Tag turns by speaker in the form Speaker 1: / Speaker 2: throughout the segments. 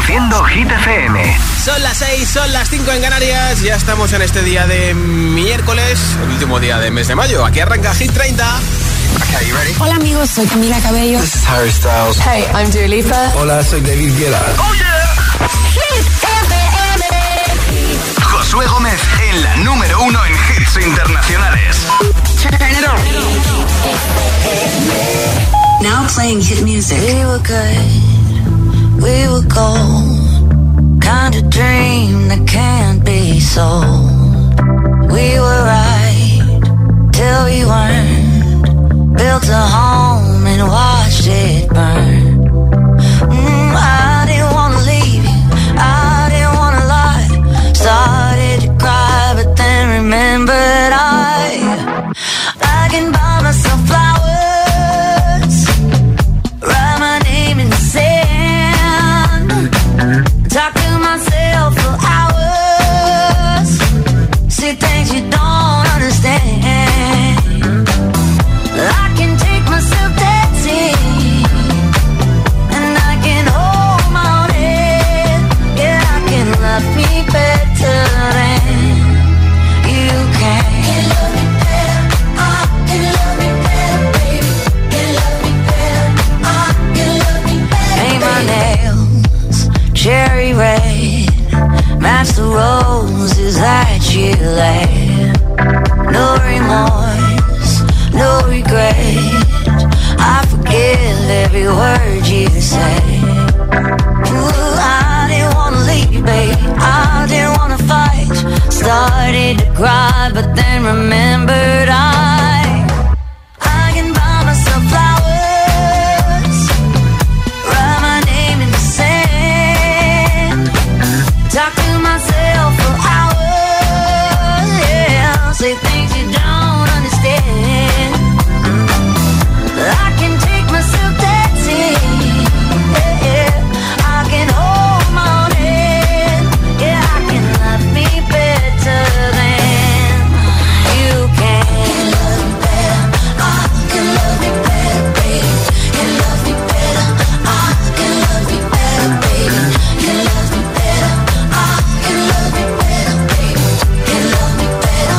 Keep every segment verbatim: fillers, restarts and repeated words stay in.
Speaker 1: Reproduciendo Hit F M.
Speaker 2: Son las seis, son las cinco en Canarias. Ya estamos en este día de miércoles, el último día del mes de mayo. Aquí arranca Hit treinta.
Speaker 3: Okay, you ready?
Speaker 4: Hola amigos, soy Camila Cabello.
Speaker 3: This is Harry Styles.
Speaker 4: Hey, I'm Dua Lipa.
Speaker 5: Hola, soy David Guetta.
Speaker 1: ¡Oh, yeah!
Speaker 4: Hit F M.
Speaker 1: Josué Gómez en la número uno en hits internacionales.
Speaker 3: Turn it on.
Speaker 6: Now playing hit music. We were good, we were gold. Kind of dream that can't be sold. We were right till we weren't. Built a home and watched it burn. Mm, I didn't wanna leave you, I didn't wanna lie. Started to cry, but then remembered I I can buy myself flowers, write my name in the sand, talk to myself for hours, see things you don't understand. I can take myself dancing, and I can hold my own head. Yeah, I can love me better than you can. Can love me better, I can love me better, baby. Can love me better, I can love me better. Paint my nails cherry red, match the roses that you laid. No remorse, no regret, I forgive every word you say. Ooh, I didn't wanna leave, babe, I didn't wanna fight. Started to cry, but then remembered I I can buy myself flowers, write my name in the sand, talk to myself for hours, yeah, say things you don't understand. I can take myself dancing, yeah, yeah. I can hold my own head, yeah, I can love me better than you can. Can love me better, I can love me better, baby. Can love me better, I can love me better, baby. Can love me better, I can love me better, baby. Can love me better,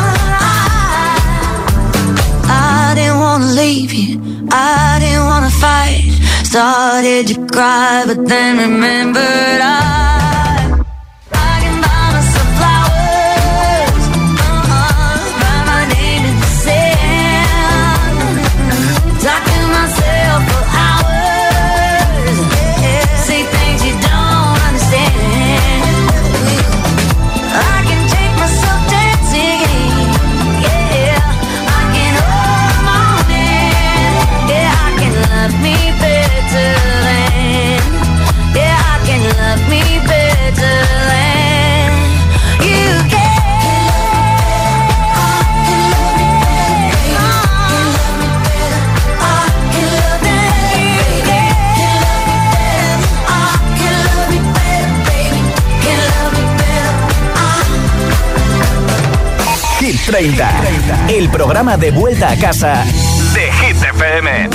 Speaker 6: I I didn't wanna leave you, I didn't wanna fight. Started to cry, but then remembered I I can buy myself flowers, uh-uh, write my name in the sand, talk to myself for hours, yeah, say things you don't understand. I can take myself dancing, yeah, I can hold my own hand, yeah, I can love me better than, yeah, I can love me better than you can. I can love me better, I can love me better, I can love me better, baby. Can love me better,
Speaker 1: Hit treinta, el programa de vuelta a casa de Hit F M.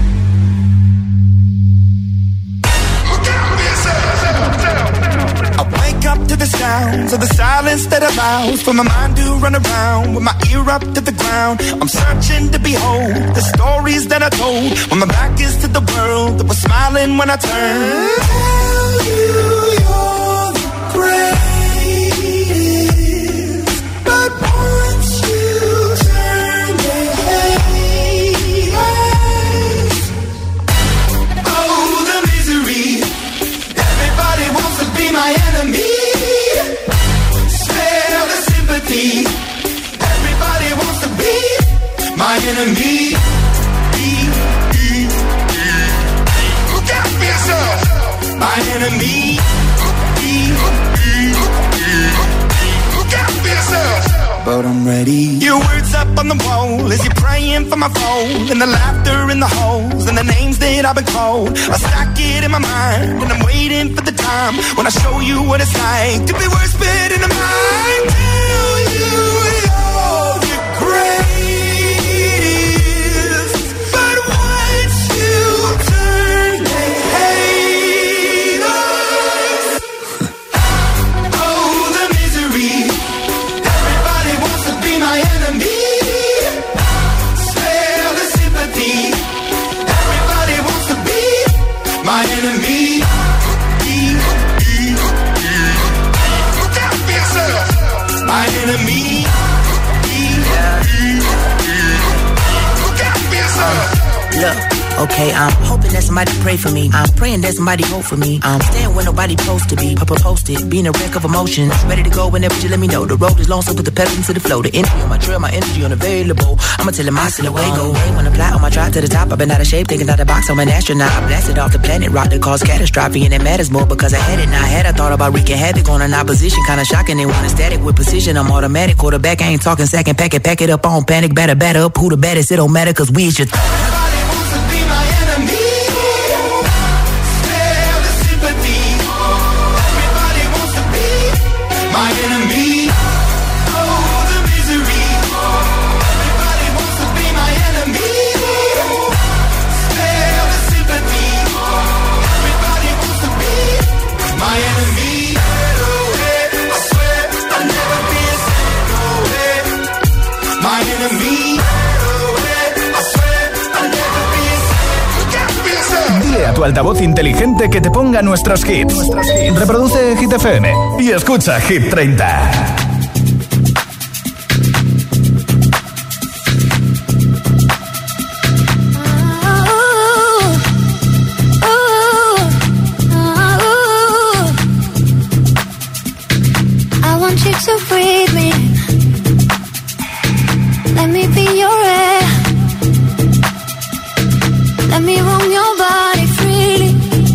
Speaker 5: I wake up to the sounds of the silence that allows for my mind to run around with my ear up to the ground. I'm searching to behold the stories that I told when my back is to the world that was smiling when I turned. Tell you you're the greatest, but once you turn they hate us. Oh, the misery. Everybody wants to be my enemy. Spare the sympathy. Everybody wants to be my enemy. Be, be, be. Look out for yourself. My enemy. Be, be, be. Look out for yourself. But I'm ready. Your words up on the wall as you're praying for my phone, and the laughter in the holes and the names that I've been called. I stack it in my mind and I'm waiting for the time when I show you what it's like to be worse fit in the mind. Tell you you're the greatest, but once you turn they hate us. enemy. Look out for yourself. My enemy. Look out for yourself.
Speaker 7: Look, okay, I'm hoping that somebody pray for me. I'm praying that somebody hope for me. I'm staying where nobody supposed to be. Papa posted, being a wreck of emotions. Ready to go whenever you let me know. The road is long, so put the pedal into the flow. The energy on my trail, my energy unavailable. I'ma tell him my silhouette go. Hey, when I fly on my drive to the top, I've been out of shape, thinking out the box. I'm an astronaut. I blasted off the planet, rock that caused catastrophe, and it matters more because I had it. Now I had I thought about wreaking havoc on an opposition, kinda shocking. They want a static with precision. I'm automatic, quarterback. I ain't talking second, pack it, pack it up on panic, batter, batter up. Who the baddest? It don't matter, cause we is just.
Speaker 5: My enemy, oh the misery. Everybody wants to be my enemy. Spare the sympathy. Everybody wants to be my enemy. No way, I swear I'll never be a no way. My enemy. No way, I swear I'll never be a look out for yourself.
Speaker 1: Dile a tu altavoz inteligente que te ponga nuestros hits. Reproduce Hit F M y escucha Hit treinta.
Speaker 6: I want you to breathe me. Let me be your air. Let me roam your body freely.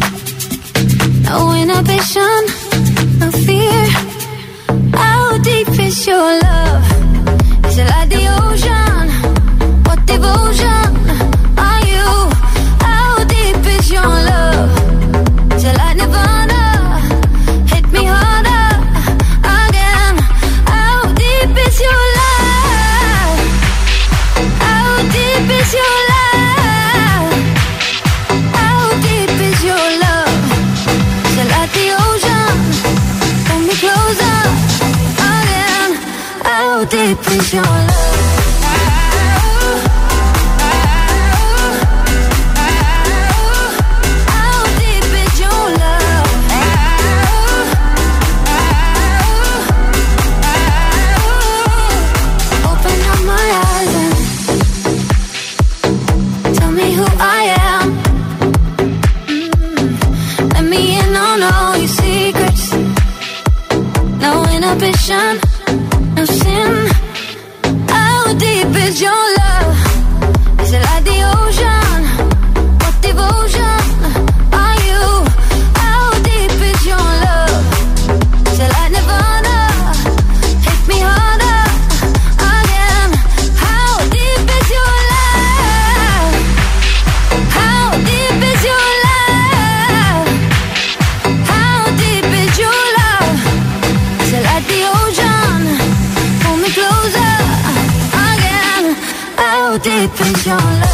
Speaker 6: No inhibition, no fear. How deep is your love? Is it like the ocean? What devotion are you? How deep is your love? Is it like Nirvana? Hit me harder again. How deep is your love? How deep is your love? How deep is your love? Is it like the ocean? Pull me closer again. How deep is your love? How deep is your love? Open up my eyes and tell me who I am. Mm. Let me in on all your secrets. No inhibition, no sin. How deep is your love? Is it like the ocean? What devotion are you? How deep is your love? Is it like Nirvana? Hit me harder again. How deep is your love? How deep is your love? How deep is your love? Is it like the ocean? Pull me closer again. How deep is your love?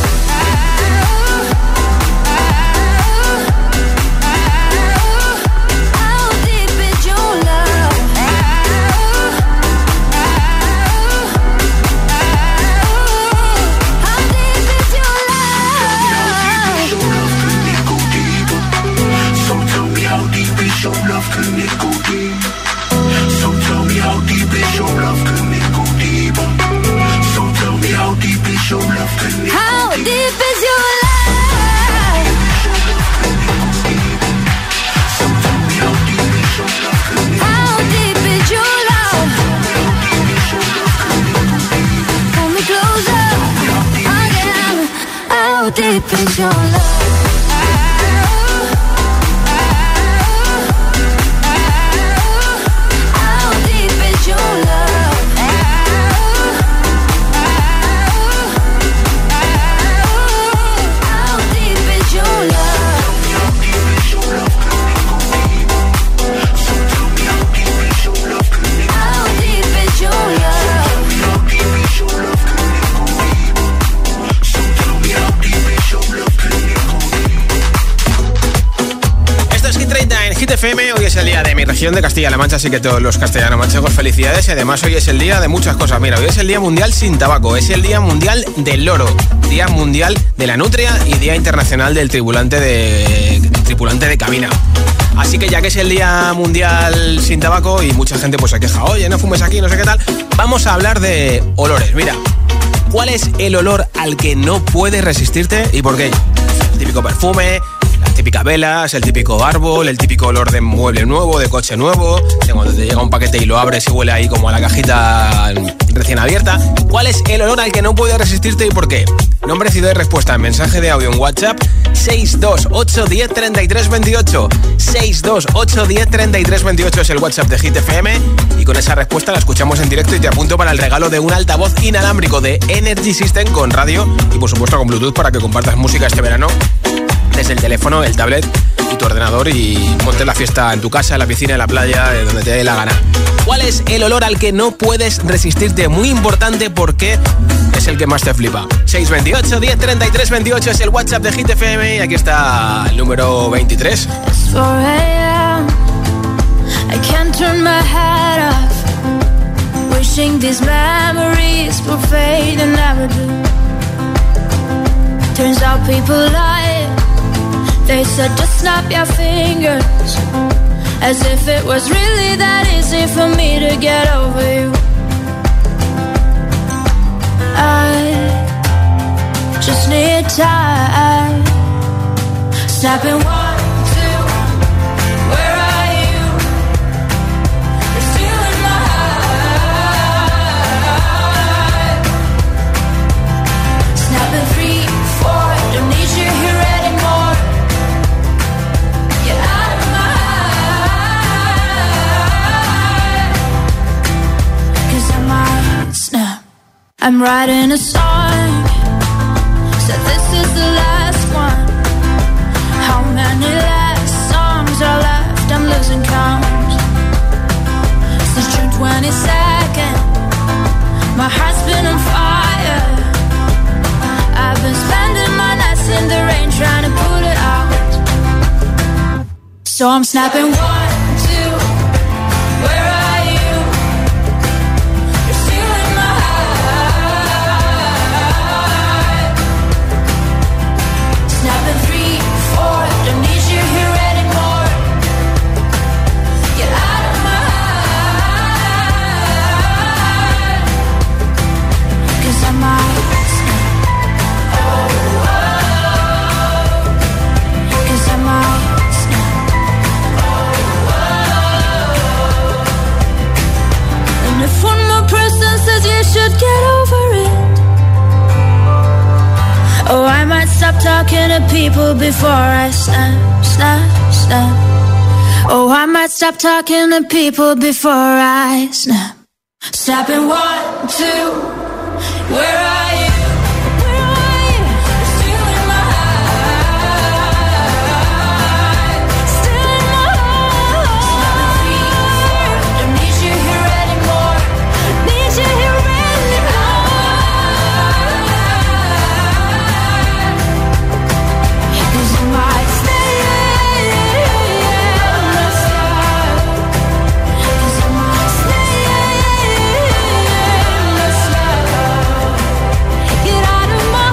Speaker 6: How deep is your love? How deep is your love?
Speaker 5: So tell me how deep is your love, can it go deep? So tell me how deep is your love, can it go deep? So tell me how deep is your love, can it go deep?
Speaker 6: How deep is your love?
Speaker 5: So tell me how deep is your love, can it go
Speaker 6: How deep is your love? Pull me closer again. How deep is your love? How deep is your love? How deep is your love? How deep is your love?
Speaker 2: Esto es Hit treinta en Hit F M. Hoy es el día de mi región de Castilla-La Mancha, así que todos los castellano-manchegos, felicidades. Y además hoy es el día de muchas cosas. Mira, hoy es el Día Mundial sin Tabaco, es el Día Mundial del Loro, Día Mundial de la Nutria y Día Internacional del Tripulante de tripulante de cabina. Así que ya que es el Día Mundial sin Tabaco y mucha gente pues se queja, oye, no fumes aquí, no sé qué tal, vamos a hablar de olores. Mira, ¿cuál es el olor al que no puedes resistirte y por qué? El típico perfume, las típicas velas, el típico árbol, el típico olor de mueble nuevo, de coche nuevo, de cuando te llega un paquete y lo abres y huele ahí como a la cajita recién abierta. ¿Cuál es el olor al que no puedes resistirte y por qué? Nombre, ciudad y respuesta en mensaje de audio en WhatsApp seis dos ocho, diez, treinta y tres, veintiocho. seis dos ocho, diez, treinta y tres, veintiocho es el WhatsApp de Hit F M y con esa respuesta la escuchamos en directo y te apunto para el regalo de un altavoz inalámbrico de Energy System con radio y por supuesto con Bluetooth para que compartas música este verano desde el teléfono, el tablet y tu ordenador y montes la fiesta en tu casa, en la piscina, en la playa, donde te dé la gana. ¿Cuál es el olor al que no puedes resistirte? Muy importante porque es el que más te flipa. seis dos ocho, diez, treinta y tres, veintiocho es el WhatsApp de Hit F M y aquí está el número veintitrés.
Speaker 6: four a.m. I can't turn my head off. Wishing these memories will fade and never do. Turns out people lie. They said just snap your fingers, as if it was really that easy for me to get over you. I just need time. Snapping one, two, where are you? You're still in my heart. Snapping three, four, don't need you here anymore. Get out of my heart. 'Cause I might snap. I'm writing a song, so this is the last one. How many last songs are left? I'm losing count. Since June twenty-second, my heart's been on fire. I've been spending my nights in the rain trying to put it out. So I'm snapping one, two, where are you? You're still in my heart. Snapping three, four, don't need you here anymore. Get out of my heart. 'Cause I might snap. Oh, oh. 'Cause I might snap. Oh, oh. And if one more person says you should get over it, oh, I might stop talking to people before I snap, snap, snap. Oh, I might stop talking to people before I snap. Snapping one, two, where are you? Where are you? You're still in my heart. Still in my heart. Snapping three, four, don't need you here anymore. Need you here anymore. 'Cause I might stay in the sun. 'Cause I might stay in the sun. Get out of my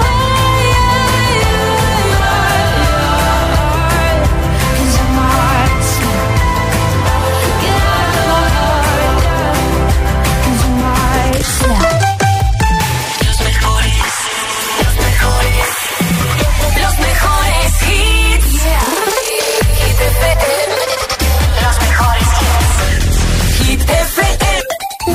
Speaker 6: heart. 'Cause I might stay. Get out of my heart. 'Cause I might stay.
Speaker 4: Los mejores, los mejores, los mejores hits. Hit F M. Los mejores hits. Hit F M.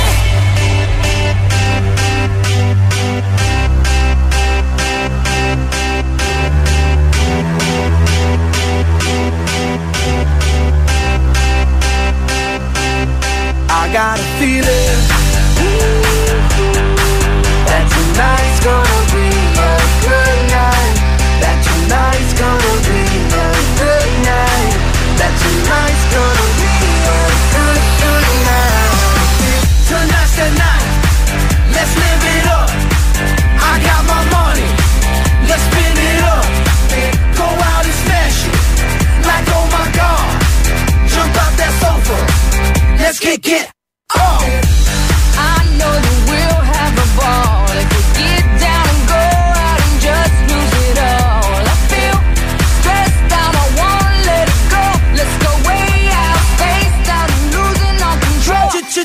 Speaker 5: I got a feeling that tonight's gonna be a good night. That tonight's gonna be a good night. That tonight's gonna be a good, good night. Tonight's the night. Let's live it up. I got my money. Let's spin it up. Go out and smash it. Like oh my God. Jump out that sofa. Let's kick it. Oh.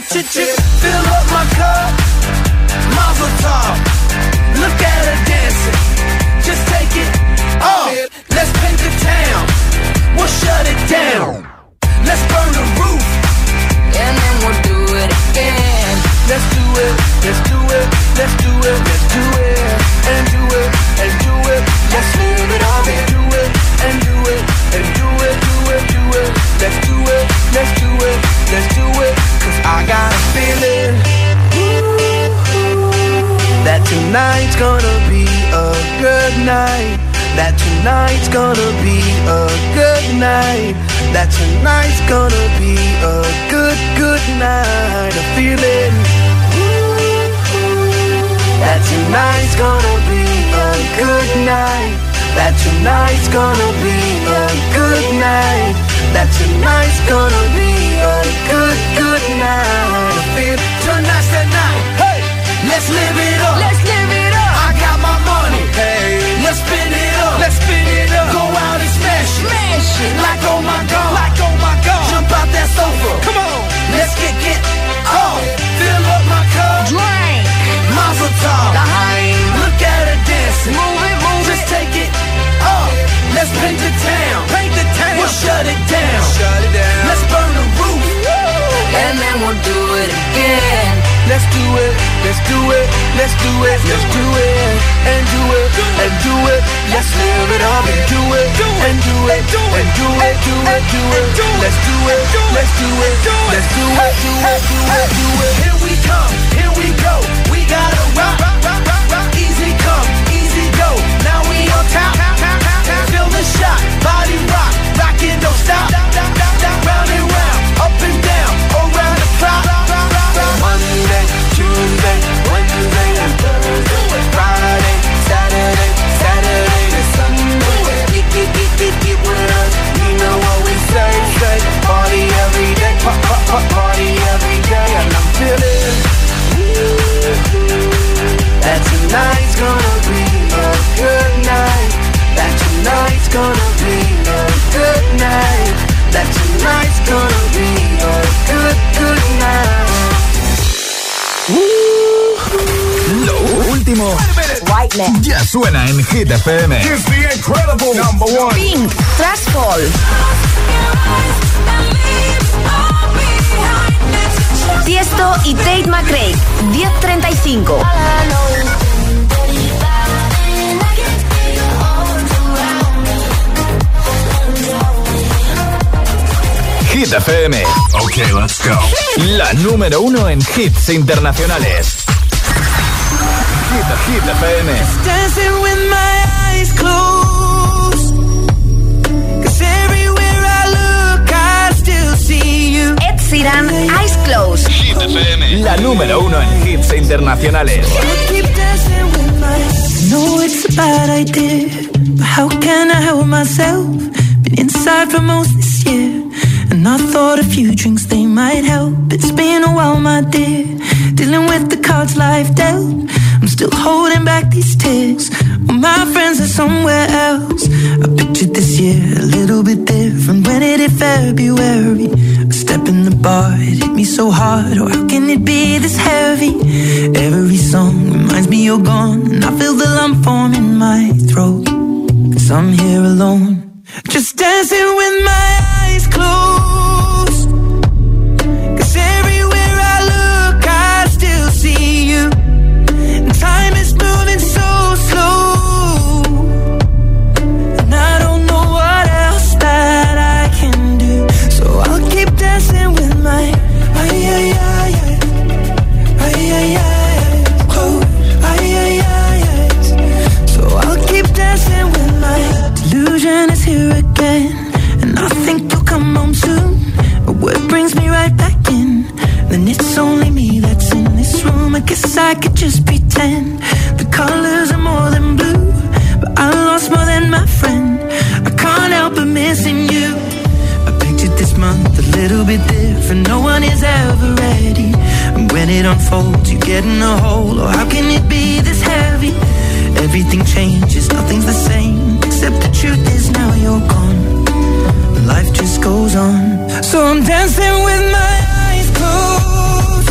Speaker 5: Fill up my cup, mazel tov. Look at her dancing, just take it off. Let's paint the town, we'll shut it down. Let's burn the roof, and then we'll do it again. Let's do it, let's do it, let's do it, let's do it, and do it, and do it. Let's live it up and do it, and do it, and do it, do it, do it. Let's do it, let's do it, let's do it. Cause I got a feeling that tonight's gonna be a good night. That tonight's gonna be a good night. That tonight's gonna be a good, good night. A feeling that tonight's gonna be a good night. That tonight's gonna be a good night. That tonight's gonna be a good, good night. I feel tonight's the night. Hey, let's live it up. Let's live it up. I got my money. Hey, let's spin it up. Let's spin it up. Go out and smash it. Smash it. Like oh my god. Like oh my god. Jump out that sofa. Come on. Let's get get off. Fill up my cup. Drink. Mazel tov. Look at her dancing. Move it, move it. Just take it off. Let's paint the town. Paint the town. We'll shut it down. Shut it down. Let's burn the roof. Woo. And then we'll do it again. Let's do it. Let's do it. Let's do it. Let's do it. And do it. And do it. Let's live it up and do it. And do it. And do it. Do it. Do it. Let's do it. Let's do it. Let's do it. Do it. Do it. Do it. Here we come. Here we go. We gotta rock. Easy come. Easy go. Now we on top. Feel the shot. Body rock. Rockin', don't stop. Round and round. Up and down. Around the clock. Monday, Tuesday, Wednesday, and Thursday, Friday, Saturday, Saturday to Sunday. Get, get, get, get, get with us. You know what we say, say. Party every day, pop, pop, pop, party every day. And I'm feeling that tonight's gonna be a good night. That tonight's gonna be a good night. That tonight's gonna be a good, good night.
Speaker 1: Lo último
Speaker 8: Whiteman
Speaker 1: ya suena en Hit F M.
Speaker 5: Here's the incredible number one.
Speaker 8: Pink, Trashfall. Tiesto y Tate McRae, diez treinta y cinco.
Speaker 1: Hit F M.
Speaker 5: Okay, let's go.
Speaker 1: La número uno en hits internacionales. Hit, Hit F M.
Speaker 9: Dancing with my eyes closed. 'Cause everywhere I look, I still see you.
Speaker 8: Ed Sheeran, Eyes Closed.
Speaker 1: Hit F M. La número uno en hits internacionales.
Speaker 9: Keep dancing with my. No, it's a bad idea, but how can I help myself? Been inside for most this year, and I thought a few drinks they might help. It's been a while, my dear, dealing with the cards life dealt. I'm still holding back these tears. Well, my friends are somewhere else. I pictured this year a little bit different. When it hit February, a step in the bar, it hit me so hard. Oh, how can it be this heavy? Every song reminds me you're gone, and I feel the lump form in my throat. 'Cause I'm here alone, just dancing with my eyes closed. 'Cause everywhere I look, I still see you. And time is moving so slow, and I don't know what else that I can do. So I'll keep dancing with my ay ay ay ay ay ay ay close ay ay ay ay. So I'll keep dancing with my delusion is here again, and I think you'll come home soon. But what brings me right back in? Then it's only me that's in this room. I guess I could just pretend the colors are more than blue, but I lost more than my friend. I can't help but missing you. I pictured this month a little bit different. No one is ever ready, and when it unfolds, you get in a hole. Oh, how can it be this heavy? Everything changes, nothing's the same, except the truth is now you're gone. Life just goes on. So I'm dancing with my eyes closed.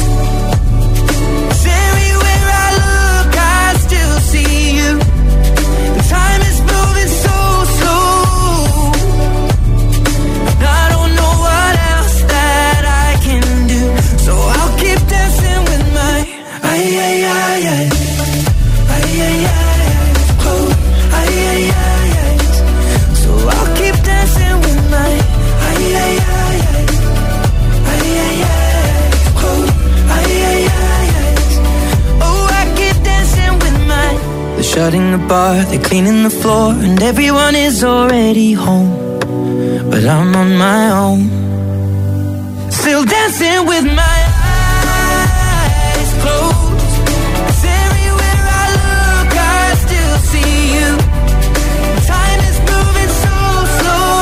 Speaker 9: shutting the bar, they're cleaning the floor, and everyone is already home. But I'm on my own, still dancing with my eyes closed. 'Cause everywhere I look, I still see you. Time is moving so slow.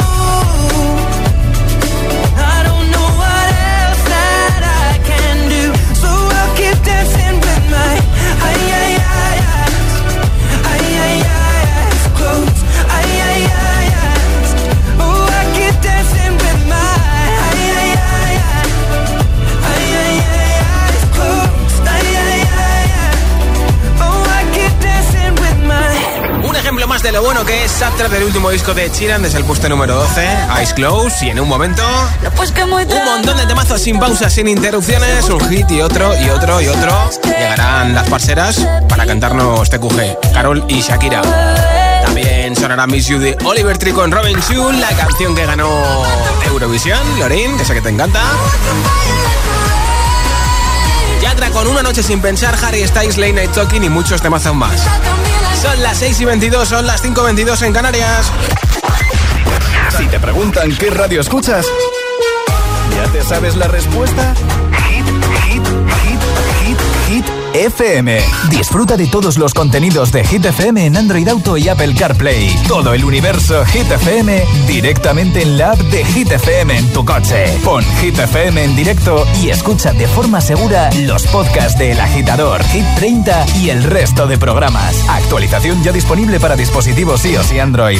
Speaker 9: I don't know what else that I can do, so I'll keep dancing with my ay ay ay eyes, ay ay ay eyes closed, ay ay ay eyes. Oh, I keep dancing with my ay ay ay ay, ay ay ay eyes closed, ay ay ay ay. Oh, I keep dancing with my.
Speaker 2: Un ejemplo más de lo bueno que es Sad del último disco de Sheeran desde el puesto número doce, Eyes Closed, y en un momento un montón de temazos sin pausas, sin interrupciones, un hit y otro y otro y otro. Llegarán las parceras para cantarnos T Q G, Karol y Shakira. También sonará Miss You de Oliver Tree con Robin Schulz, la canción que ganó Eurovisión, Lorin, que sé que te encanta. Yatra con Una noche sin pensar, Harry Styles, Late Night Talking y muchos temazos más. Son las seis y veintidós, son las cinco y veintidós en Canarias.
Speaker 1: Si te preguntan qué radio escuchas, ¿ya te sabes la respuesta? Hit, hit, hit, hit, hit F M. Disfruta de todos los contenidos de Hit F M en Android Auto y Apple CarPlay. Todo el universo Hit F M directamente en la app de Hit F M en tu coche. Pon Hit F M en directo y escucha de forma segura los podcasts de El Agitador, Hit treinta y el resto de programas. Actualización ya disponible para dispositivos iOS y Android.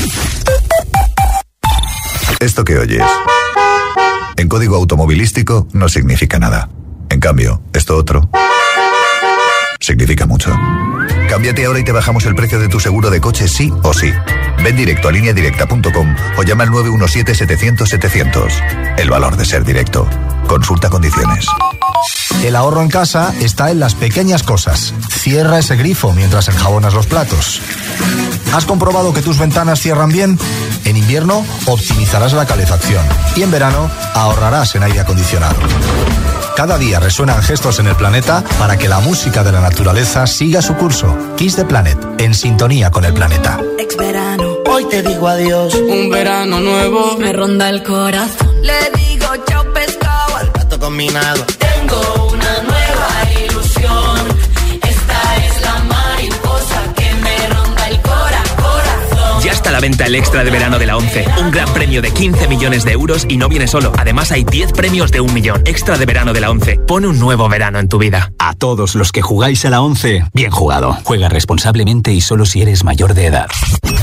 Speaker 10: Esto que oyes en código automovilístico no significa nada. En cambio, esto otro significa mucho. Cámbiate ahora y te bajamos el precio de tu seguro de coche sí o sí. Ven directo a línea directa punto com o llama al nueve uno siete, setecientos, setecientos. El valor de ser directo. Consulta condiciones.
Speaker 11: El ahorro en casa está en las pequeñas cosas. Cierra ese grifo mientras enjabonas los platos. ¿Has comprobado que tus ventanas cierran bien? En invierno optimizarás la calefacción y en verano ahorrarás en aire acondicionado. Cada día resuenan gestos en el planeta para que la música de la naturaleza siga su curso. Kiss the Planet, en sintonía con el planeta.
Speaker 12: Ex verano, hoy te digo adiós. Un verano nuevo me ronda el corazón. Le digo chao pescado al gato combinado. Tengo una nueva ilusión. Esta es la mariposa que me ronda el cora, corazón.
Speaker 13: Ya está a la venta el extra de verano de la ONCE. Un gran premio de quince millones de euros y no viene solo. Además hay diez premios de un millón. Extra de verano de la ONCE. Pone un nuevo verano en tu vida.
Speaker 14: A todos los que jugáis a la ONCE, bien jugado. Juega responsablemente y solo si eres mayor de edad.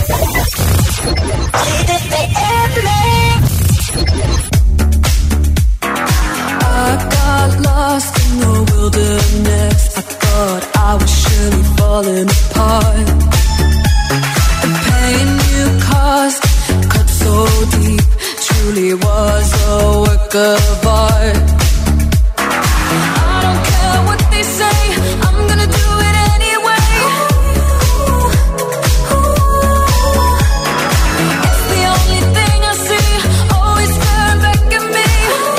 Speaker 12: Cut so deep, truly was a work of art. I don't care what they say, I'm gonna do it anyway. It's the only thing I see, always staring back at me.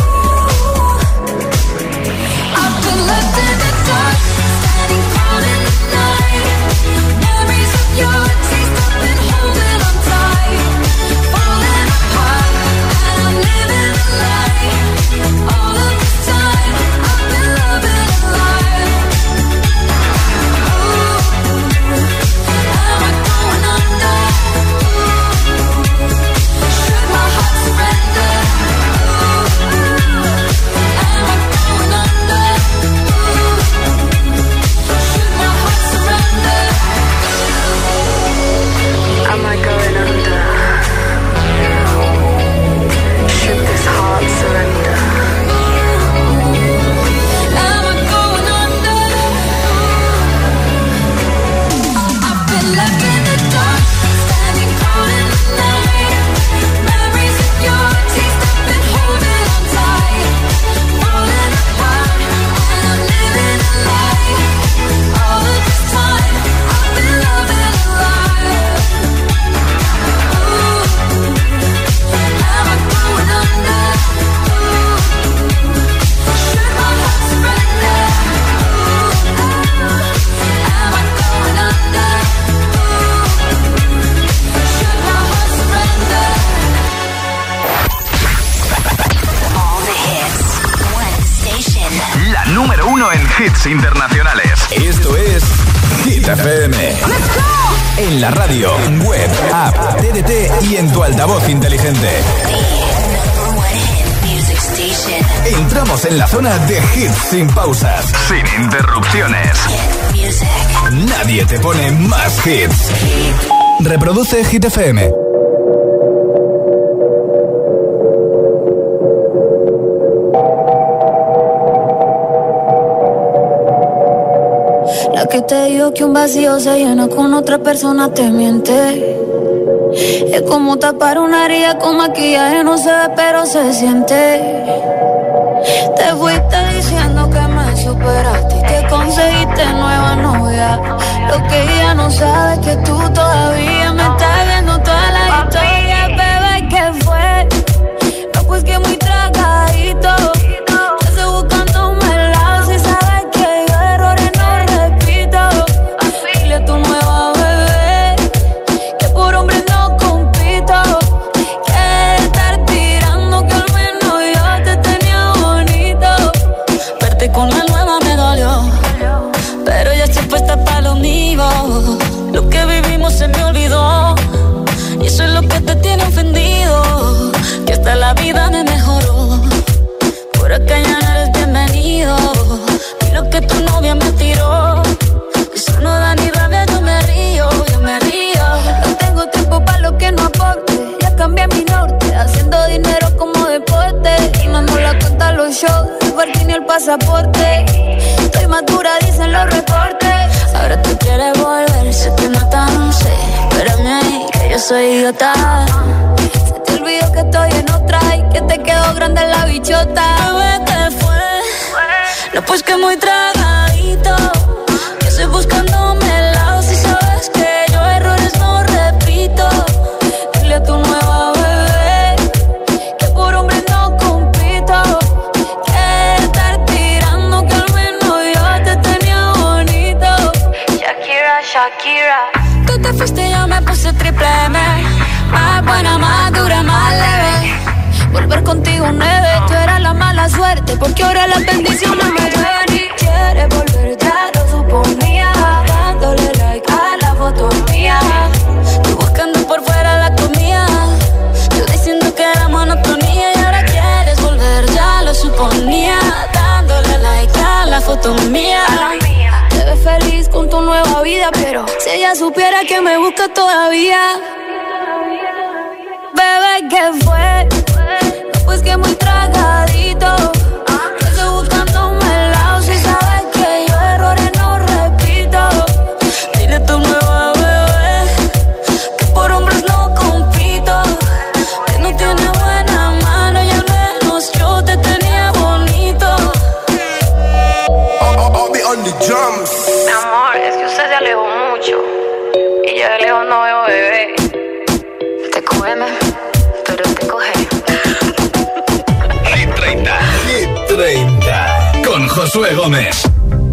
Speaker 12: I've been left in the dark, standing cold in the night. Memories of your taste, I've been holding on tight. Falling apart, and I'm living a lie.
Speaker 1: hits internacionales. Esto es Hit F M. En la radio, web, app, T D T y en tu altavoz inteligente. Entramos en la zona de hits sin pausas, sin interrupciones. Nadie te pone más hits. Reproduce Hit F M.
Speaker 6: La que te dijo que un vacío se llena con otra persona te miente. Es como tapar una herida con maquillaje, no se ve pero se siente. Te fuiste diciendo que me superaste y que conseguiste nueva novia. Lo que ella no sabe es que tú todavía me estás viendo toda la historia. Bebé, ¿qué fue? No, pues que muy tragadito. Estoy buscándome el lado si sabes que yo errores no repito. Dile a tu nueva bebé que por hombre no compito. Que estar tirando que al menos yo te tenía bonito. Verte con la nueva me dolió, pero ya estoy puesta para lo mío. Lo que vivimos se me olvidó y eso es lo que te tiene ofendido. Que hasta la vida me mejoró. Por acá ya no eres bienvenido. Y lo que tu novia me tiró, eso no da ni rabia, yo me río, yo me río. No tengo tiempo para lo que no aporte. Ya cambié mi norte, haciendo dinero como deporte. Y no la cuenta a los shows, el parking ni el pasaporte. Estoy madura, dicen los reportes. Ahora tú quieres volver, se te nota, no sé. Espérame ahí, que yo soy idiota. Se te olvidó que estoy en otra y que te quedó grande la bichota. Bebé, ¿qué fue? No, pues que muy tragadito. Que estoy buscándome el lado si sabes que yo errores no repito. Dile a tu nueva bebé que por hombre no compito. Que estar tirando que al menos yo te tenía bonito. Shakira, Shakira. Tú te fuiste y yo me puse triple M. Más buena, más dura, más leve. Volver contigo nueve. Tú eras la mala suerte porque ahora las bendiciones me llueven. Y quieres volver, ya lo suponía. Dándole like a la foto mía. Tú buscando por fuera la comida. Yo diciendo que era monotonía. Y ahora quieres volver, ya lo suponía. Dándole like a la foto mía. Te ves feliz con tu nueva vida, pero si ella supiera que me busca todavía. Bebé, ¿qué fue? No, pues que muy tragadito. Estoy buscándome el lado si sabes que yo errores no repito. Dile a tu nueva bebé que por hombres no compito. Que no tiene buena mano y al menos yo te tenía bonito.
Speaker 5: I'll, I'll be on the drums.
Speaker 15: Mi amor, es que usted se alejó mucho y yo de lejos no veo bebé. Te cógeme, pero te coge.
Speaker 1: Hit treinta. Hit treinta. Con Josué Gómez.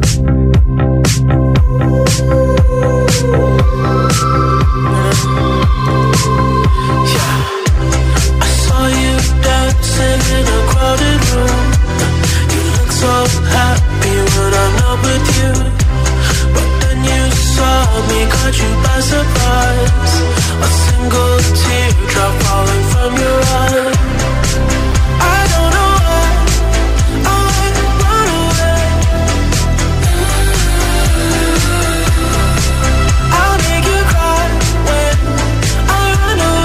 Speaker 12: I saw you dancing in a crowded room. You look so happy when I'm not with you. But then you saw me, caught you by surprise. A single teardrop falling from your eye. I don't know why I let it run away. I'll make you cry when I run away.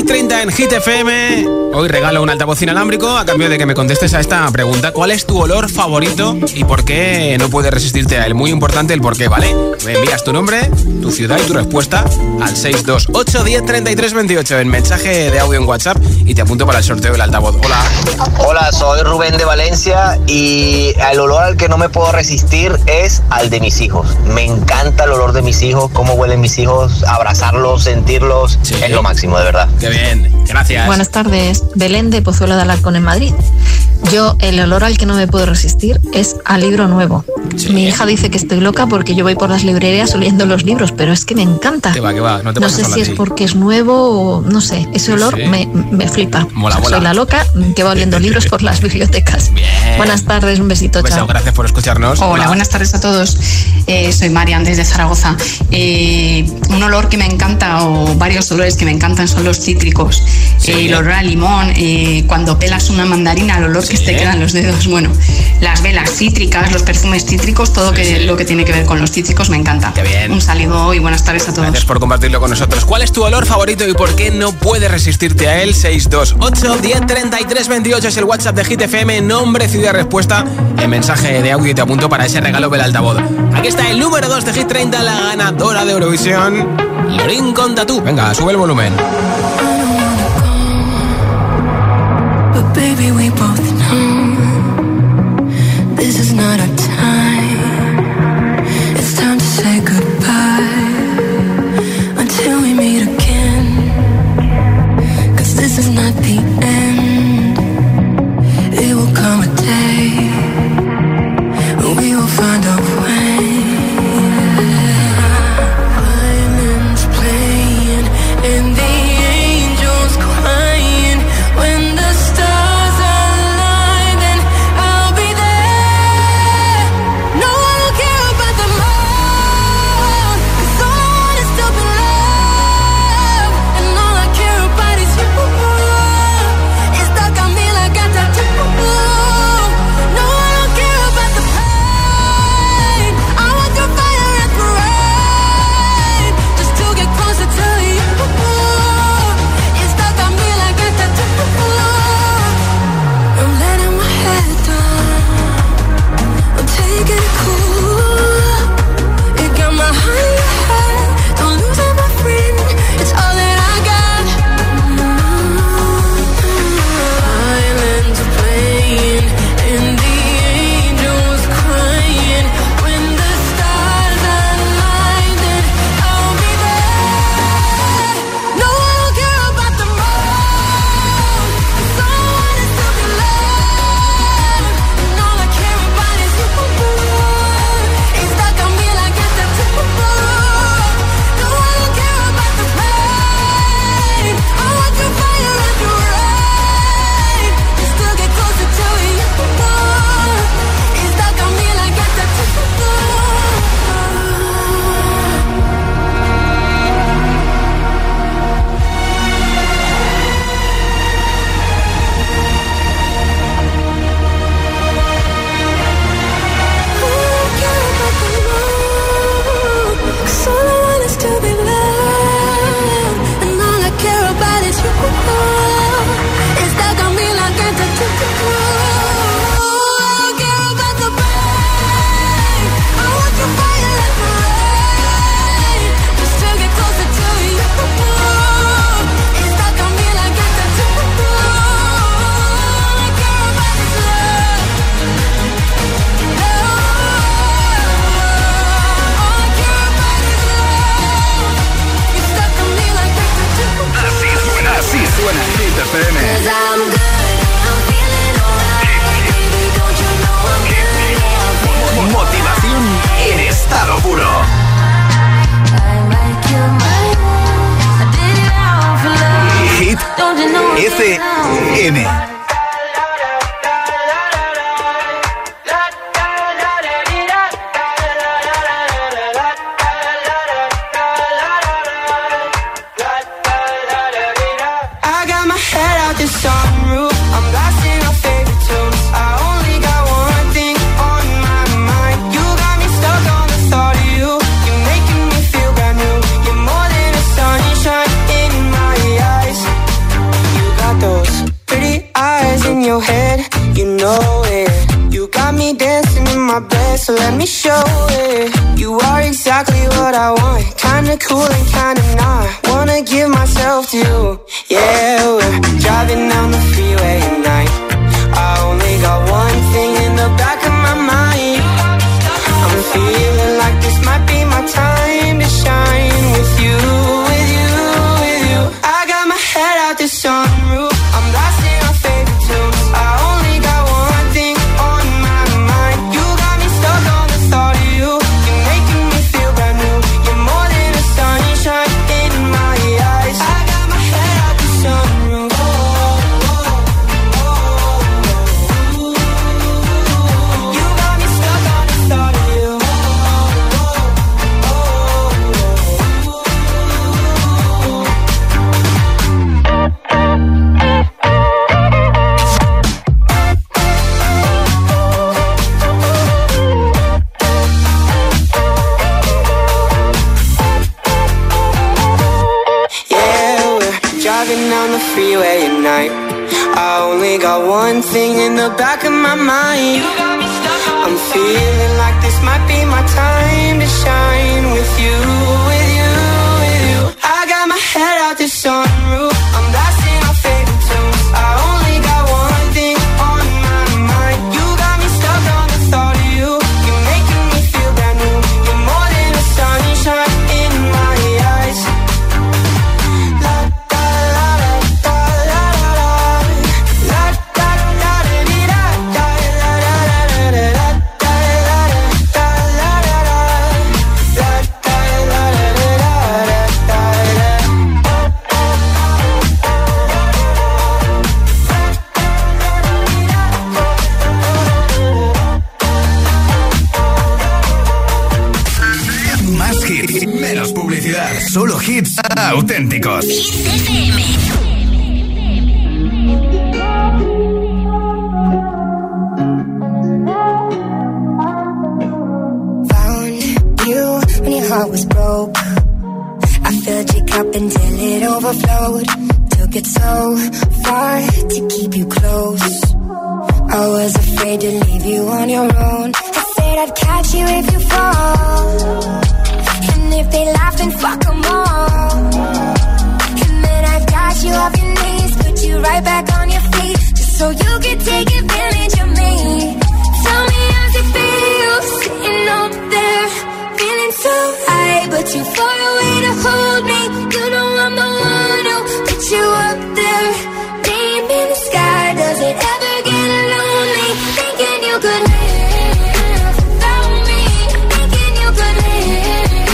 Speaker 2: treinta en Hit F M. Hoy regalo un altavoz inalámbrico a cambio de que me contestes a esta pregunta. ¿Cuál es tu olor favorito y por qué no puedes resistirte a él? Muy importante el por qué, ¿vale? Me envías tu nombre, tu ciudad y tu respuesta al seis dos ocho, diez, treinta y tres, veintiocho en mensaje de audio en WhatsApp y te apunto para el sorteo del altavoz. Hola.
Speaker 16: Hola, soy Rubén de Valencia y el olor al que no me puedo resistir es al de mis hijos. Me encanta el olor de mis hijos, cómo huelen mis hijos, abrazarlos, sentirlos, sí. Es lo máximo, de verdad.
Speaker 2: Qué bien, gracias.
Speaker 17: Buenas tardes, Belén de Pozuelo de Alarcón en Madrid. Yo, el olor al que no me puedo resistir es al libro nuevo. Sí. Mi hija dice que estoy loca porque yo voy por las librerías oliendo los libros, pero es que me encanta.
Speaker 2: Que va, que va. No, te
Speaker 17: no sé si es porque es nuevo o no sé, ese olor sí. me, me flipa.
Speaker 2: Mola,
Speaker 17: o sea,
Speaker 2: mola.
Speaker 17: Soy la loca que va oliendo libros por las bibliotecas.
Speaker 2: Bien.
Speaker 17: Buenas tardes, un besito,
Speaker 2: un beso,
Speaker 17: chao.
Speaker 2: Gracias por escucharnos.
Speaker 18: Hola,
Speaker 2: Hola.
Speaker 18: buenas tardes a todos. Eh, soy Marian desde Zaragoza. Eh, un olor que me encanta, o varios olores que me encantan, son los cítricos. Sí. Eh, el olor a limón, eh, cuando pelas una mandarina, el olor sí. que te queda en los dedos. Bueno, las velas cítricas, los perfumes cítricos, todo sí, que, sí. lo que tiene que ver con los cítricos me encanta.
Speaker 2: Qué bien.
Speaker 18: Un saludo y buenas tardes a todos.
Speaker 2: Gracias por compartirlo con nosotros. ¿Cuál es tu olor favorito y por qué no puedes resistirte a él? seis dos ocho, diez, treinta y tres, veintiocho es el WhatsApp de Hit F M. Nombre, ciudad, respuesta en mensaje de audio y te apunto para ese regalo del altavoz. Aquí está el número dos de Hit treinta, la ganadora de Eurovisión, Lorin con Tatú. Venga, sube el volumen.
Speaker 9: But baby, we both know this is not our time. It's time to say goodbye until we meet again. 'Cause this is not the end. It will come a day when we will find a way. Violins playing and the angels crying. When the stars align, then I'll be there. No one will care about the moon, 'cause all I want is to be loved, and all I care about is you. It's stuck on me like a tattoo. No one will care about the pain. I want your fire and parade, just to get closer to you. It's stuck on me like a tattoo. I'm letting my head down, I'm taking it cool. You got my heart in your head, don't lose it, my friend. It's all that I got. Violins are playing and the angels crying. When the stars align, then I'll be there. No one will care about the moon, 'cause all I want is to be loved, and all I care about is you. It's stuck on me like a tattoo. No one will care about the pain. I want your fire and your rain, just to get closer to you. It's stuck on me like a tattoo. Cause all I want is to be loved, and all I care about is you. It's stuck on me like a tattoo. I don't care about the pain. I want your fire and rain, just to get closer to you. It's stuck on me like a tattoo. All I care about is love.
Speaker 1: Así suena, así suena Hit F M. Motivación en estado puro. Hit F M.
Speaker 9: I got my head out the sunroof, I'm blasting our favorite tunes. I only got one thing on my mind. You got me stuck on the thought of you. You're making me feel brand new. You're more than a sunshine in my eyes.
Speaker 19: dancing in my bed, so let me show it. You are exactly what I want, kinda cool and kinda not. Wanna give myself to you, yeah. We're driving down the freeway at night. I only got one thing in the back of my mind. I'm feeling like this might be my time to shine with you, with you, with you. I got my head out the sunroof, I'm blasting our favorite tunes. I only got one thing on my mind. You got me stuck on the thought of you. You're making me feel brand new. You're more than a sunshine in my eyes. I got my head out the sunroof. You got me stuck on the thought of you. Driving down the freeway at night. I only got one thing in the back of my mind. I'm feeling like this might be my time to shine with you, with you, with you. I got my head out the sunroof, I'm blasting our favorite tunes. I only got one thing on my mind. You got me stuck on the thought of you. You're making me feel brand new. You're more than a sunshine in my eyes.
Speaker 1: Solo hits auténticos.
Speaker 4: Hit F M.
Speaker 20: Found you when your heart was broke. I filled your cup until it overflowed. Took it so far to keep you close. I was afraid to leave you on your own. I said I'd catch you if you fall. And if they laugh, then fuck them all. And then I've got you off your knees, put you right back on your feet, just so you can take advantage of me. Tell me how's it feel, sitting up there, feeling so high, but too far away to hold me. You know I'm the one who put you up there, name in the sky. Does it ever get lonely, thinking you could live without me, thinking you could live.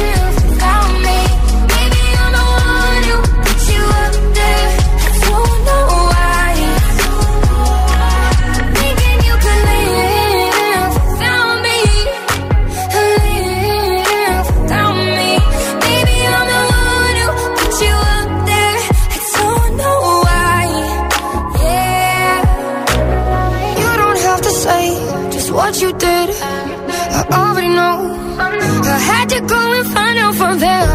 Speaker 20: What you did, I already know. I had to go and find out from them.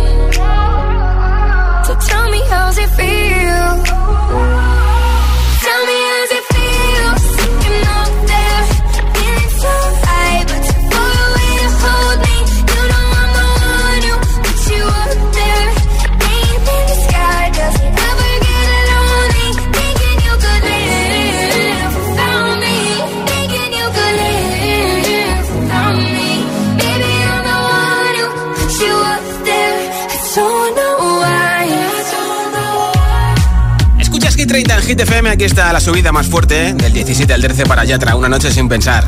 Speaker 20: So tell me how's it feel. Tell me how's it feel, sitting up there, feeling so high, but too far away to hold me. You know I'm the one who put you up there, name in the sky. Does it ever get lonely, thinking you could live without me, thinking you could live without me. Baby, I'm the one who put you up there. I don't know why.
Speaker 2: Escuchas Hit treinta en Hit F M. Aquí está la subida más fuerte, ¿eh? Del diecisiete al trece para Yatra, Una noche sin pensar.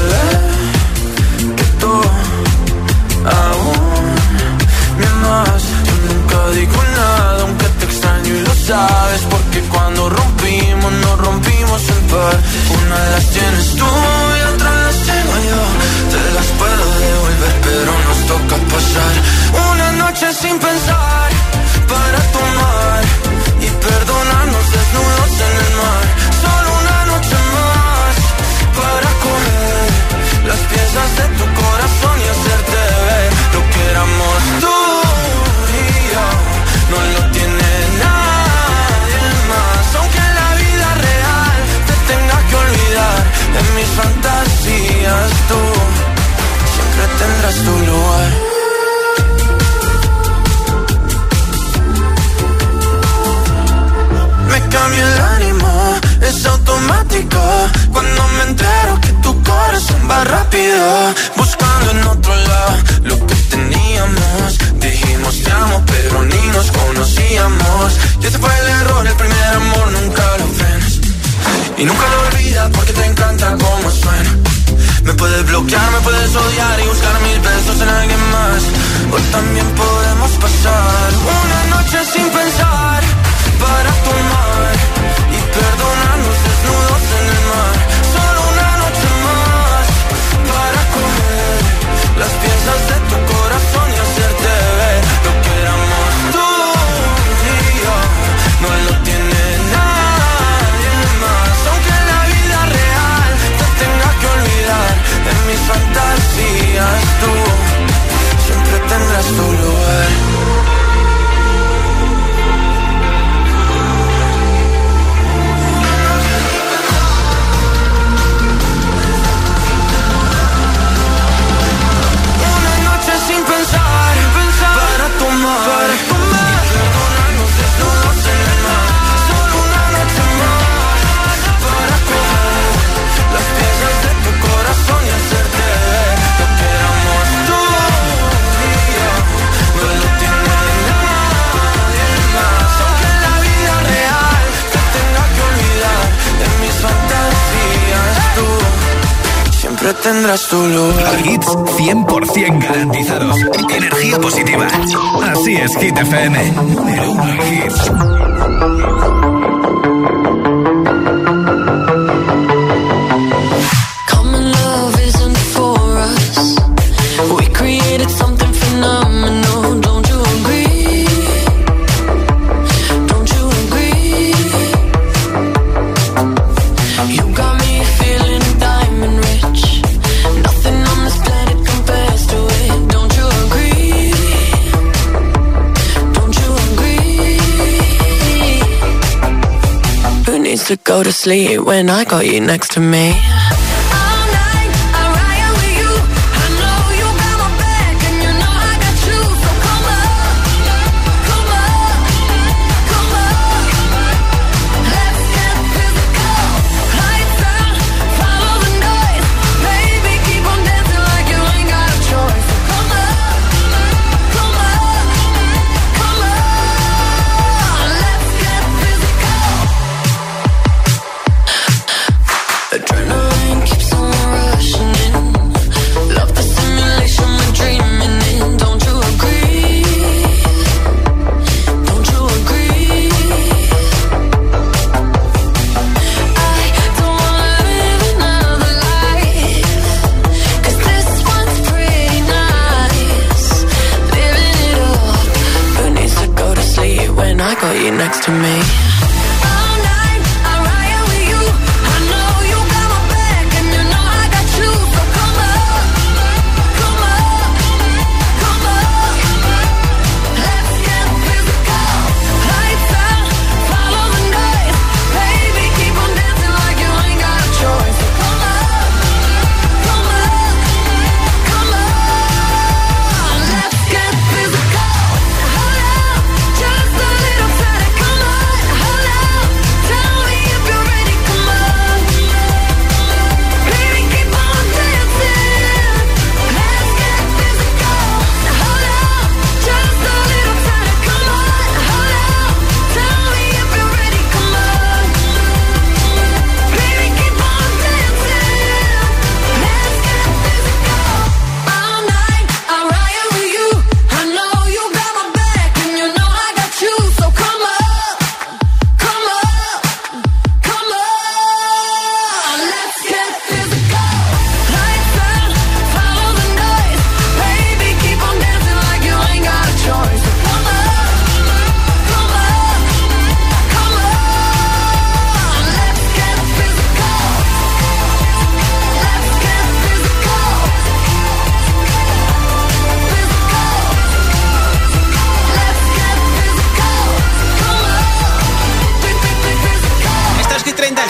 Speaker 12: Que tú aún me amas. Yo nunca digo nada, aunque te extraño y lo sabes, porque cuando rompimos, nos rompimos en par. Una de las tienes tú y otra las tengo yo. Te las puedo devolver, pero nos toca pasar una noche sin pensar, para tomar y perdonarnos desnudos en el mar. Solo una noche más para comer las piernas tendrás tu lugar. Me cambia el ánimo, es automático. Cuando me entero que tu corazón va rápido. Buscando en otro lado lo que teníamos. Dijimos te amo, pero ni nos conocíamos. Y ese fue el error, el primer amor nunca lo frenas. Y nunca lo olvidas porque te encanta cómo suena. Me puedes bloquear, me puedes odiar y buscar mil besos en alguien más. O también podemos pasar una noche sin pensar, para tomar y perdonarnos desnudos en el mar. Solo una noche más para comer las piezas de tu corazón y hacerte ver lo que éramos tú y yo. No lo tiene nadie más. Aunque en la vida real te tenga que olvidar, en mis fantasías tú siempre tendrás tu lugar. Para tomar, perdonarnos desnudos en el mar. Solo una noche más para comer las piezas de tu corazón y hacerte ver lo que éramos tú y yo. No lo tiene nadie más. Aunque en la vida real te tenga que olvidar, en mis fantasías tú siempre tendrás tu lugar.
Speaker 1: Hits cien por ciento garantizados. Energía positiva. Así es, Hit F M. Número uno en hits.
Speaker 12: Common love isn't for us. We created something phenomenal. Don't you agree? Don't you agree? You got me feeling diamond rich. Nothing on this planet compares to it. Don't you agree? Don't you agree? Who needs to go to sleep when I got you next to me? Adrenaline keeps on rushing in. Love the simulation we're dreaming in. Don't you agree? Don't you agree? I don't wanna live another life, 'cause this one's pretty nice. Living it up. Who needs to go to sleep when I got you next to me? Just a little time, come on.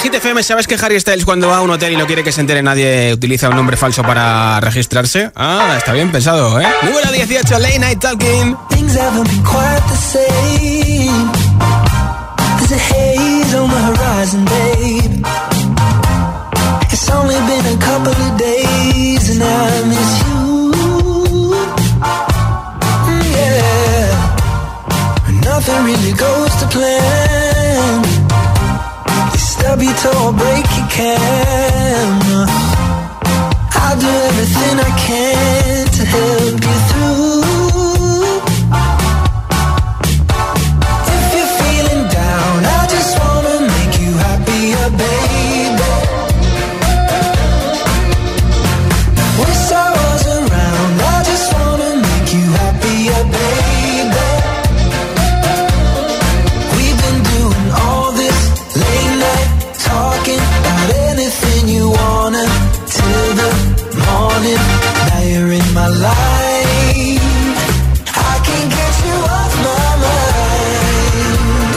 Speaker 2: Hit F M, ¿sabes que Harry Styles cuando va a un hotel y no quiere que se entere nadie utiliza un nombre falso para registrarse? Ah, está bien pensado, ¿eh? Número dieciocho, Late Night Talking.
Speaker 9: Things haven't been quite the same. There's a haze on the horizon, babe. It's only been a couple of days and I miss you. Yeah. Nothing really goes to plan. You stub your toe or break your can. I'll do everything I can to help you through. If you're feeling down, I just wanna make you happier, baby. Wish I was around, I just wanna make you happier, baby. We've been doing all this late night talking about anything you wanna till the morning. Now you're in my life. I can't get you off my mind.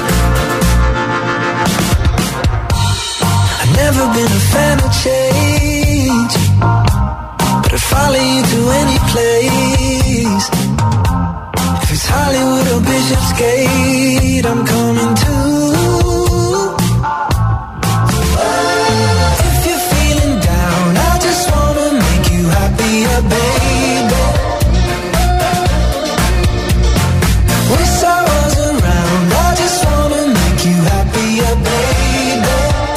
Speaker 9: I've never been a fan of change, but I'd follow you to any place. If it's Hollywood or Bishopsgate, I'm coming too. If you're feeling down, I just wanna make you happier, baby. Wish I was around, I just wanna make you happier, baby.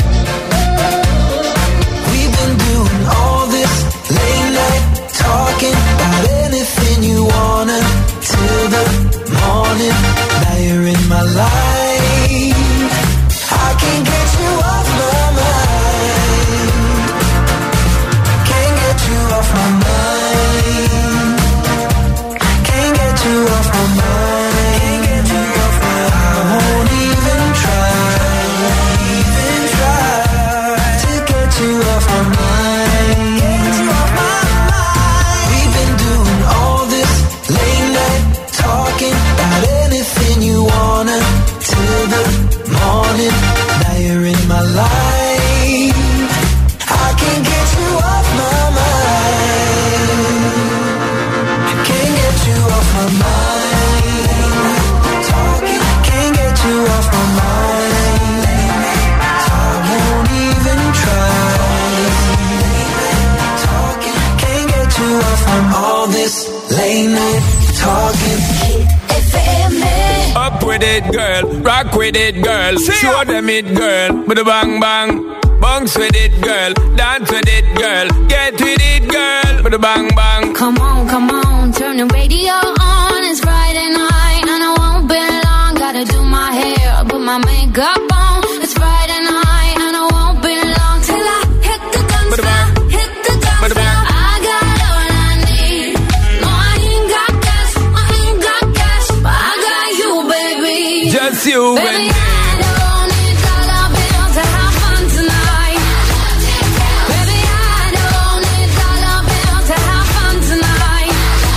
Speaker 9: We've been doing all this late night talking about anything you wanna till the morning. Now you're in my life. I can't get you off my mind. Can't get you off my mind. Can't get you off my mind. Can't get you off my mind. I won't even try, even try to get you off my mind. Get you off my mind. We've been doing all this late night talking about anything you wanna till the morning. Now you're in my life. I can't get you off my mind. Can't get you off my mind. Talking, can't get you off my mind. I won't even try. Talking, can't get you off from all this late night talking. F M.
Speaker 21: Up with it, girl. Rock with it, girl. Show them it, girl. With a bang bang. Bounce with it, girl. Dance with it, girl. Get with it, girl. With a bang bang.
Speaker 4: Come on, come on, turn the radio on. It's Friday night and I won't be long. Gotta do my hair, put my makeup on. It's Friday night and I won't be long till I hit the dance floor, hit the dance floor. I got all I need. No, I ain't got cash, I ain't got cash, but I got you, baby.
Speaker 21: Just you
Speaker 4: Baby,
Speaker 21: and me.
Speaker 4: I don't need dollar bills to have fun tonight. Baby, I don't need dollar bills to have fun tonight.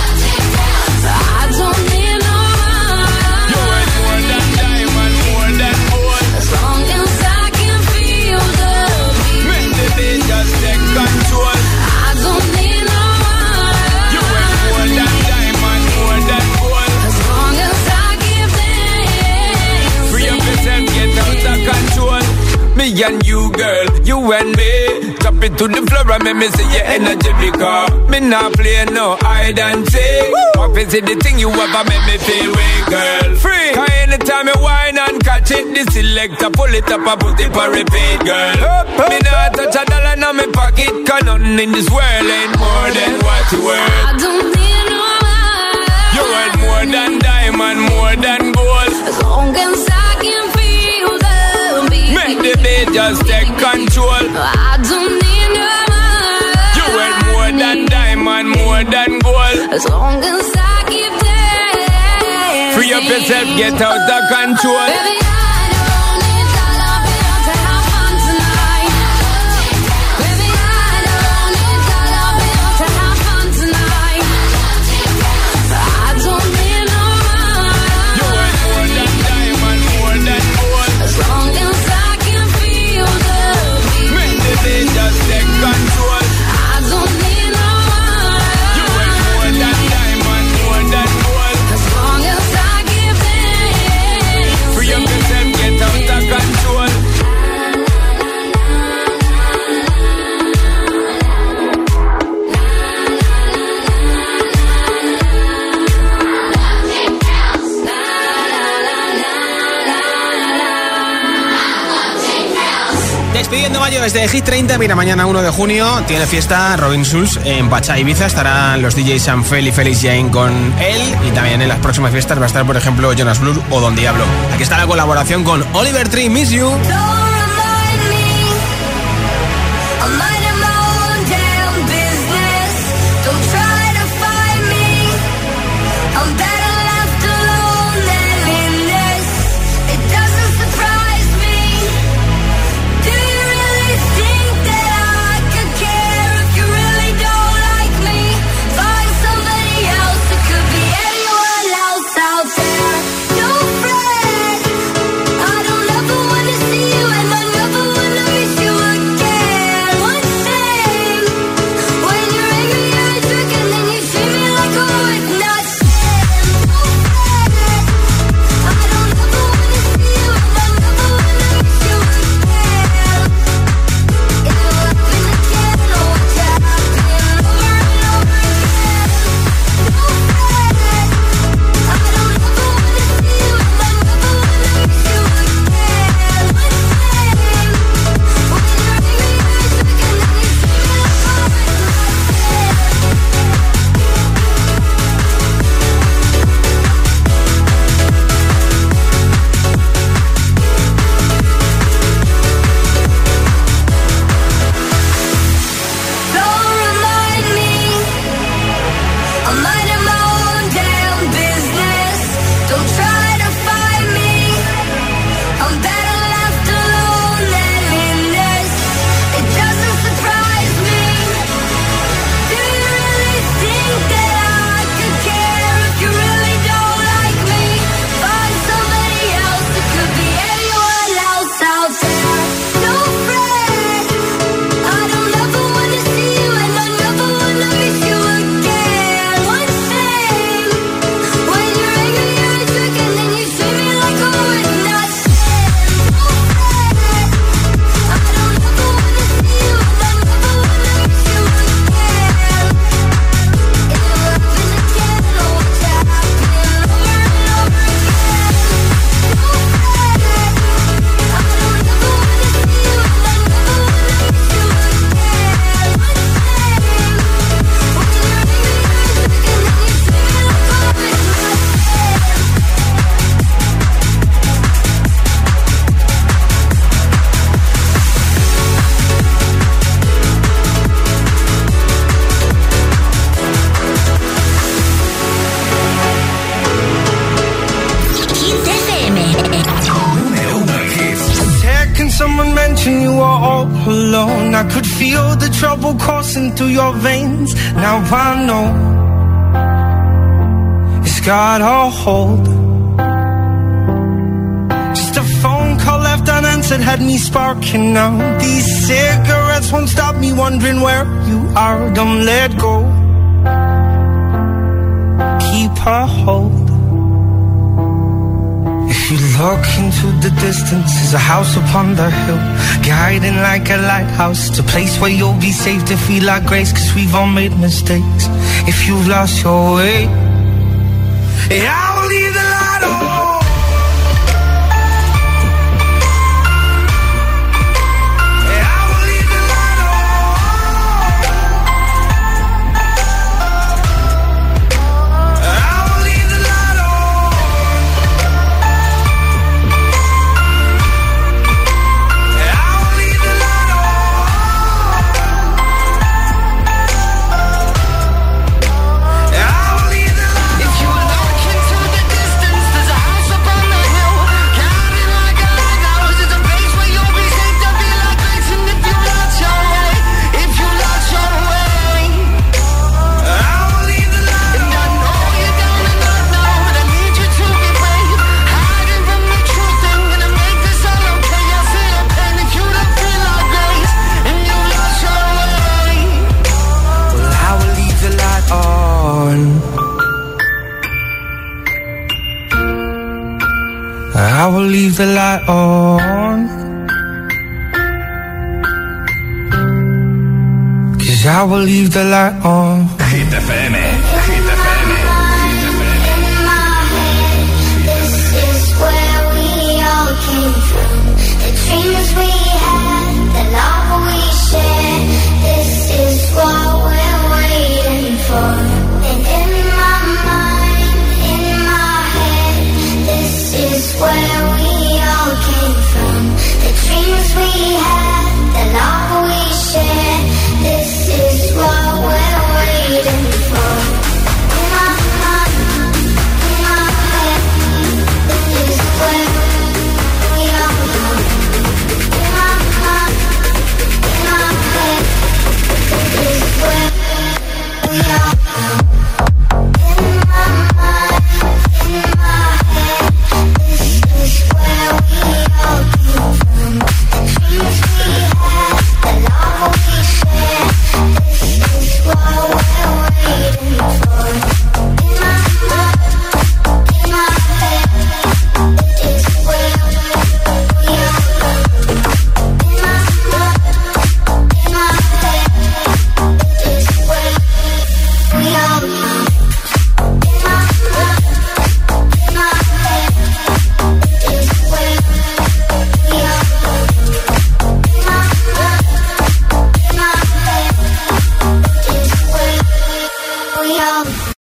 Speaker 4: I don't need no money.
Speaker 21: You ain't more than diamond, more than gold.
Speaker 4: As long as I can feel the beat.
Speaker 21: Make the beat just take control.
Speaker 4: I don't need no money.
Speaker 21: You ain't more than diamond, more than gold.
Speaker 4: As long as I give them.
Speaker 21: Free up yourself, get out of control. Me and you, girl, you and me. Drop it to the floor and make me see your energy because me not play no hide and seek. What is it the thing you ever make me feel way, girl? Free. Cause anytime you whine and catch it, the selector pull it up and put it for repeat, girl. Me not touch a dollar in my pocket, cause nothing in this world ain't more than what you worth.
Speaker 4: I don't need no money.
Speaker 21: You worth more than diamond, more than gold.
Speaker 4: As long as I can feel the beat.
Speaker 21: Make the beat just take control.
Speaker 4: I don't need no money.
Speaker 21: You worth more than diamond, more than gold.
Speaker 4: As long as I keep dancing.
Speaker 21: Free up yourself, get out of control.
Speaker 4: Baby, I don't need dollar bills to have fun tonight. Baby, I don't need dollar bills to have fun tonight. I don't need no money.
Speaker 21: You worth more than diamond, more than gold.
Speaker 4: As long as I can feel the
Speaker 2: Despidiendo mayo desde Hit treinta. Mira, mañana uno de junio tiene fiesta Robin Schulz en Pachá, Ibiza. Estarán los D Js Sanfel y Felix Jane con él. Y también en las próximas fiestas va a estar, por ejemplo, Jonas Blue o Don Diablo. Aquí está la colaboración con Oliver Tree, Miss You.
Speaker 9: I could feel the trouble coursing through your veins. Now I know it's got a hold. Just a phone call left unanswered had me sparking now. These cigarettes won't stop me wondering where you are. Don't let go. Keep a hold. If you look into the distance, there's a house upon the hill, guiding like a lighthouse. It's a place where you'll be safe to feel like grace, cause we've all made mistakes. If you've lost your way, yeah, I will leave the light on. I will leave the light on, 'cause I will leave the light on.